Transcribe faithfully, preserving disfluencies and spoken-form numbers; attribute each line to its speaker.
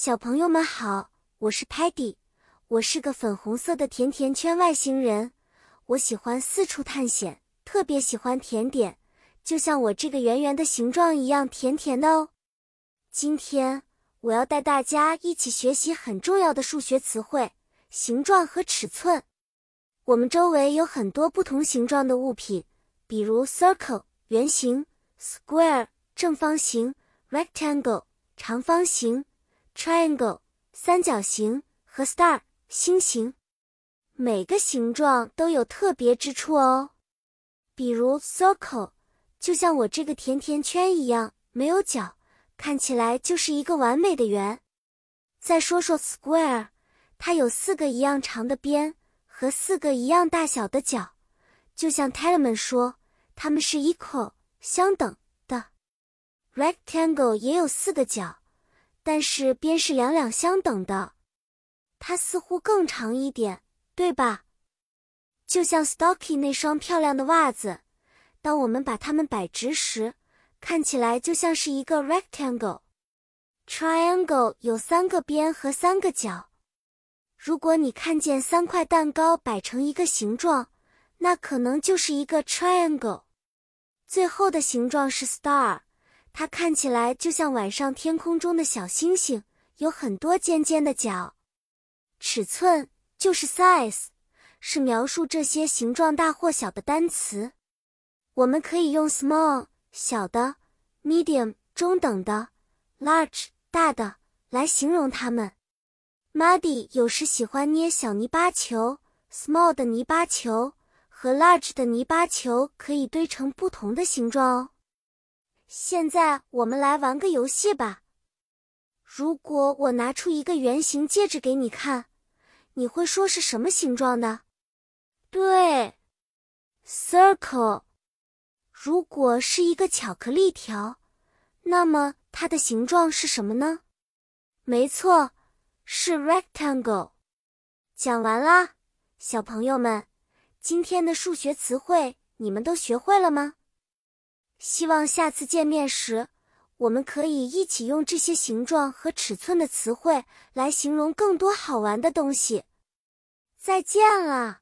Speaker 1: 小朋友们好，我是 Patty， 我是个粉红色的甜甜圈外星人。我喜欢四处探险，特别喜欢甜点，就像我这个圆圆的形状一样甜甜的哦。今天我要带大家一起学习很重要的数学词汇——形状和尺寸。我们周围有很多不同形状的物品，比如 circle 圆形、square 正方形、rectangle 长方形、triangle 三角形和 star 星形。每个形状都有特别之处哦。比如 circle 就像我这个甜甜圈一样，没有角，看起来就是一个完美的圆。再说说 square， 它有四个一样长的边和四个一样大小的角，就像 Talman 说，它们是 equal 相等的。rectangle 也有四个角，但是边是两两相等的，它似乎更长一点，对吧？就像 Stocky 那双漂亮的袜子，当我们把它们摆直时，看起来就像是一个 rectangle。Triangle 有三个边和三个角。如果你看见三块蛋糕摆成一个形状，那可能就是一个 triangle。最后的形状是 star， 它看起来就像晚上天空中的小星星，有很多尖尖的角。尺寸就是 size， 是描述这些形状大或小的单词。我们可以用 small 小的、medium 中等的、large 大的来形容它们。Muddy 有时喜欢捏小泥巴球， small 的泥巴球和 large 的泥巴球可以堆成不同的形状哦。现在我们来玩个游戏吧。如果我拿出一个圆形戒指给你看，你会说是什么形状的？对 ，circle。如果是一个巧克力条，那么它的形状是什么呢？没错，是 rectangle。讲完啦，小朋友们，今天的数学词汇你们都学会了吗？希望下次见面时，我们可以一起用这些形状和尺寸的词汇来形容更多好玩的东西。再见了。